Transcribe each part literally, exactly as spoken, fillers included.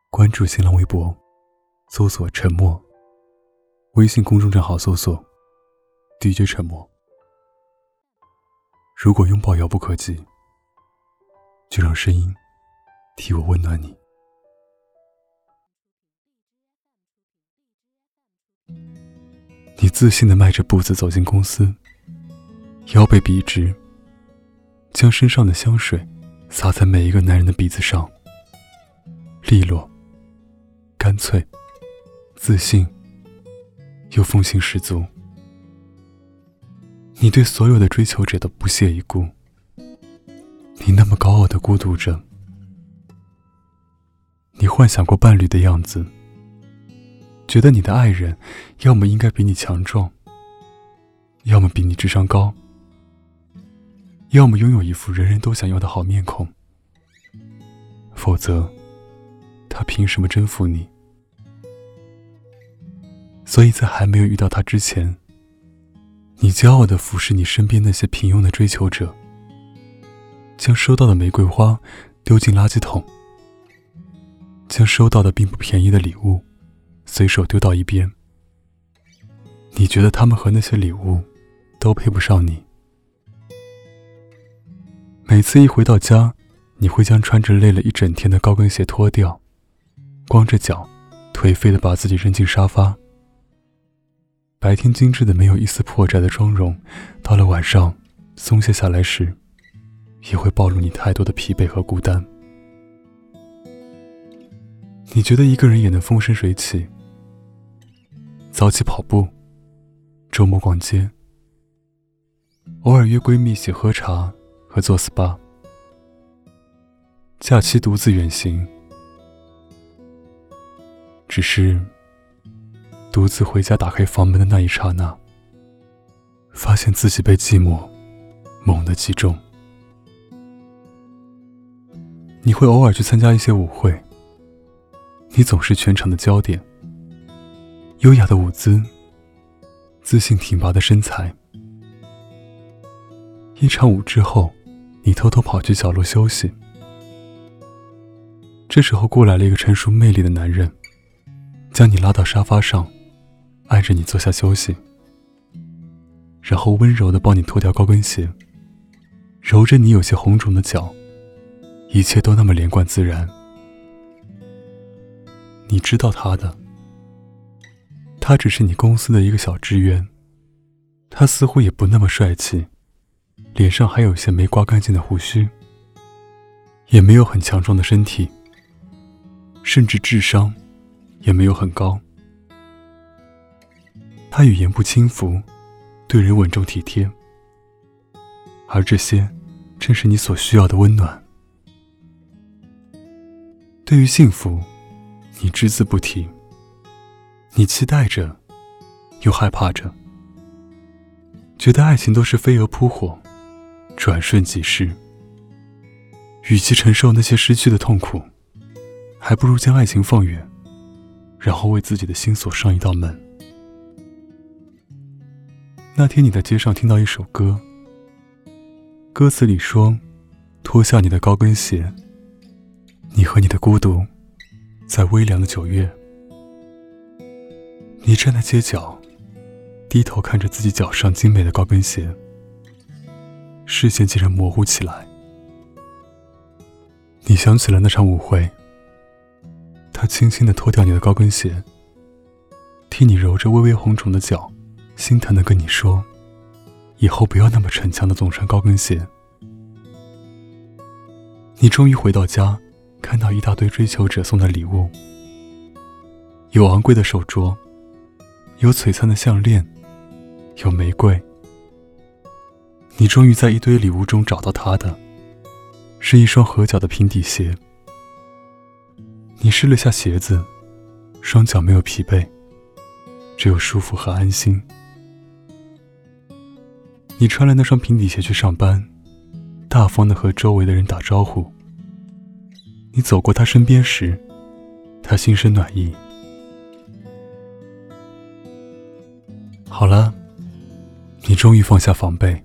关注新浪微博，搜索沉默，微信公众账号搜索 D J 沉默。如果拥抱遥不可及，就让声音替我温暖你。你自信地迈着步子走进公司，腰背笔直，将身上的香水洒在每一个男人的鼻子上，利落干脆，自信又风情十足。你对所有的追求者都不屑一顾，你那么高傲地孤独着。你幻想过伴侣的样子，觉得你的爱人要么应该比你强壮，要么比你智商高，要么拥有一副人人都想要的好面孔，否则他凭什么征服你？所以在还没有遇到他之前，你骄傲地俯视你身边那些平庸的追求者，将收到的玫瑰花丢进垃圾桶，将收到的并不便宜的礼物随手丢到一边。你觉得他们和那些礼物都配不上你。每次一回到家，你会将穿着累了一整天的高跟鞋脱掉，光着脚颓废地把自己扔进沙发。白天精致的没有一丝破绽的妆容，到了晚上松懈下来时，也会暴露你太多的疲惫和孤单。你觉得一个人也能风生水起，早起跑步，周末逛街，偶尔约闺蜜一起喝茶和做 S P A， 假期独自远行，只是独自回家打开房门的那一刹那，发现自己被寂寞猛地击中。你会偶尔去参加一些舞会，你总是全场的焦点，优雅的舞姿，自信挺拔的身材。一场舞之后，你偷偷跑去角落休息。这时候过来了一个成熟魅力的男人，将你拉到沙发上，挨着你坐下休息，然后温柔地帮你脱掉高跟鞋，揉着你有些红肿的脚，一切都那么连贯自然。你知道他的，他只是你公司的一个小职员，他似乎也不那么帅气，脸上还有些没刮干净的胡须，也没有很强壮的身体，甚至智商也没有很高。他语言不轻浮，对人稳重体贴，而这些正是你所需要的温暖。对于幸福，你只字不提，你期待着，又害怕着，觉得爱情都是飞蛾扑火，转瞬即逝。与其承受那些失去的痛苦，还不如将爱情放远，然后为自己的心锁上一道门。那天你在街上听到一首歌，歌词里说，脱下你的高跟鞋，你和你的孤独在微凉的九月。你站在街角，低头看着自己脚上精美的高跟鞋，视线竟然模糊起来。你想起了那场舞会，他轻轻地脱掉你的高跟鞋，替你揉着微微红肿的脚，心疼地跟你说，以后不要那么逞强地总穿高跟鞋。你终于回到家，看到一大堆追求者送的礼物，有昂贵的手镯，有璀璨的项链，有玫瑰。你终于在一堆礼物中找到他的，是一双合脚的平底鞋。你试了下鞋子，双脚没有疲惫，只有舒服和安心。你穿了那双平底鞋去上班，大方地和周围的人打招呼。你走过他身边时，他心生暖意。好了，你终于放下防备。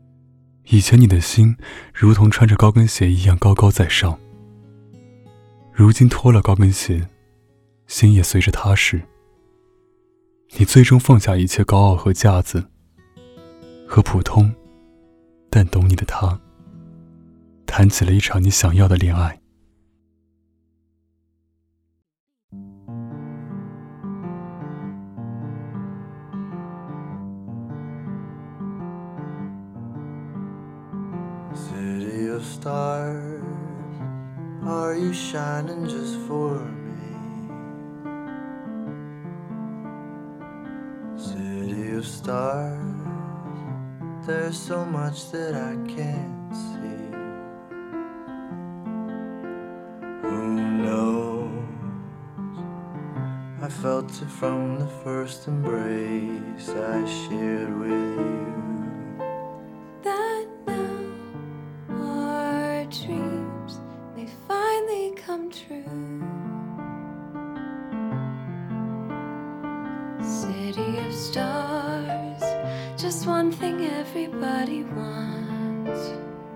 以前你的心如同穿着高跟鞋一样高高在上， 如今脱了高跟鞋，心也随着踏实。你最终放下一切高傲和架子，和普通但懂你的他谈起了一场你想要的恋爱。 City of stars, are you shining just for me? City of stars, there's so much that I can't see. Who knows? I felt it from the first embrace I shared with you. That now our dreams may finally come true. City of stars, just one thing everybody wants.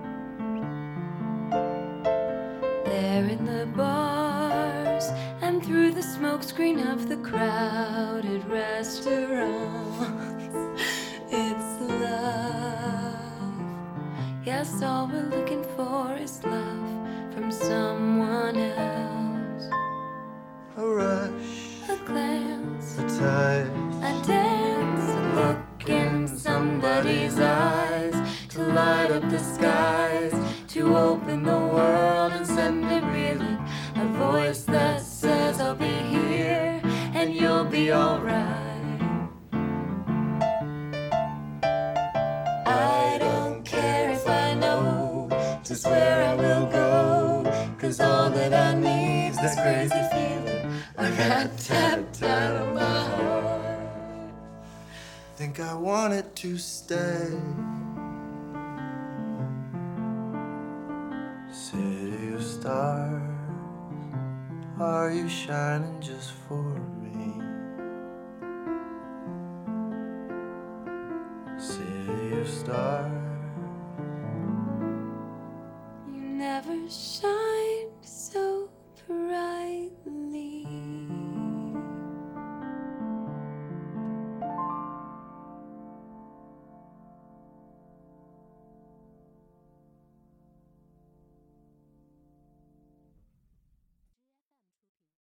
There in the bars and through the smokescreen of the crowded restaurants, it's love. Yes, all we're looking for is love from someone else. A rush, A glance, a touch, a dance, a look in somebody's eyes, to light up the skies, to open the world and send it reeling. A voice that says I'll be here and you'll be alright. I don't care if I know just where I will go, 'cause all that I need's that crazy feeling I got tapped out of my heart. think I want it to stay. City of stars, are you shining just for me? City of stars, You never shine.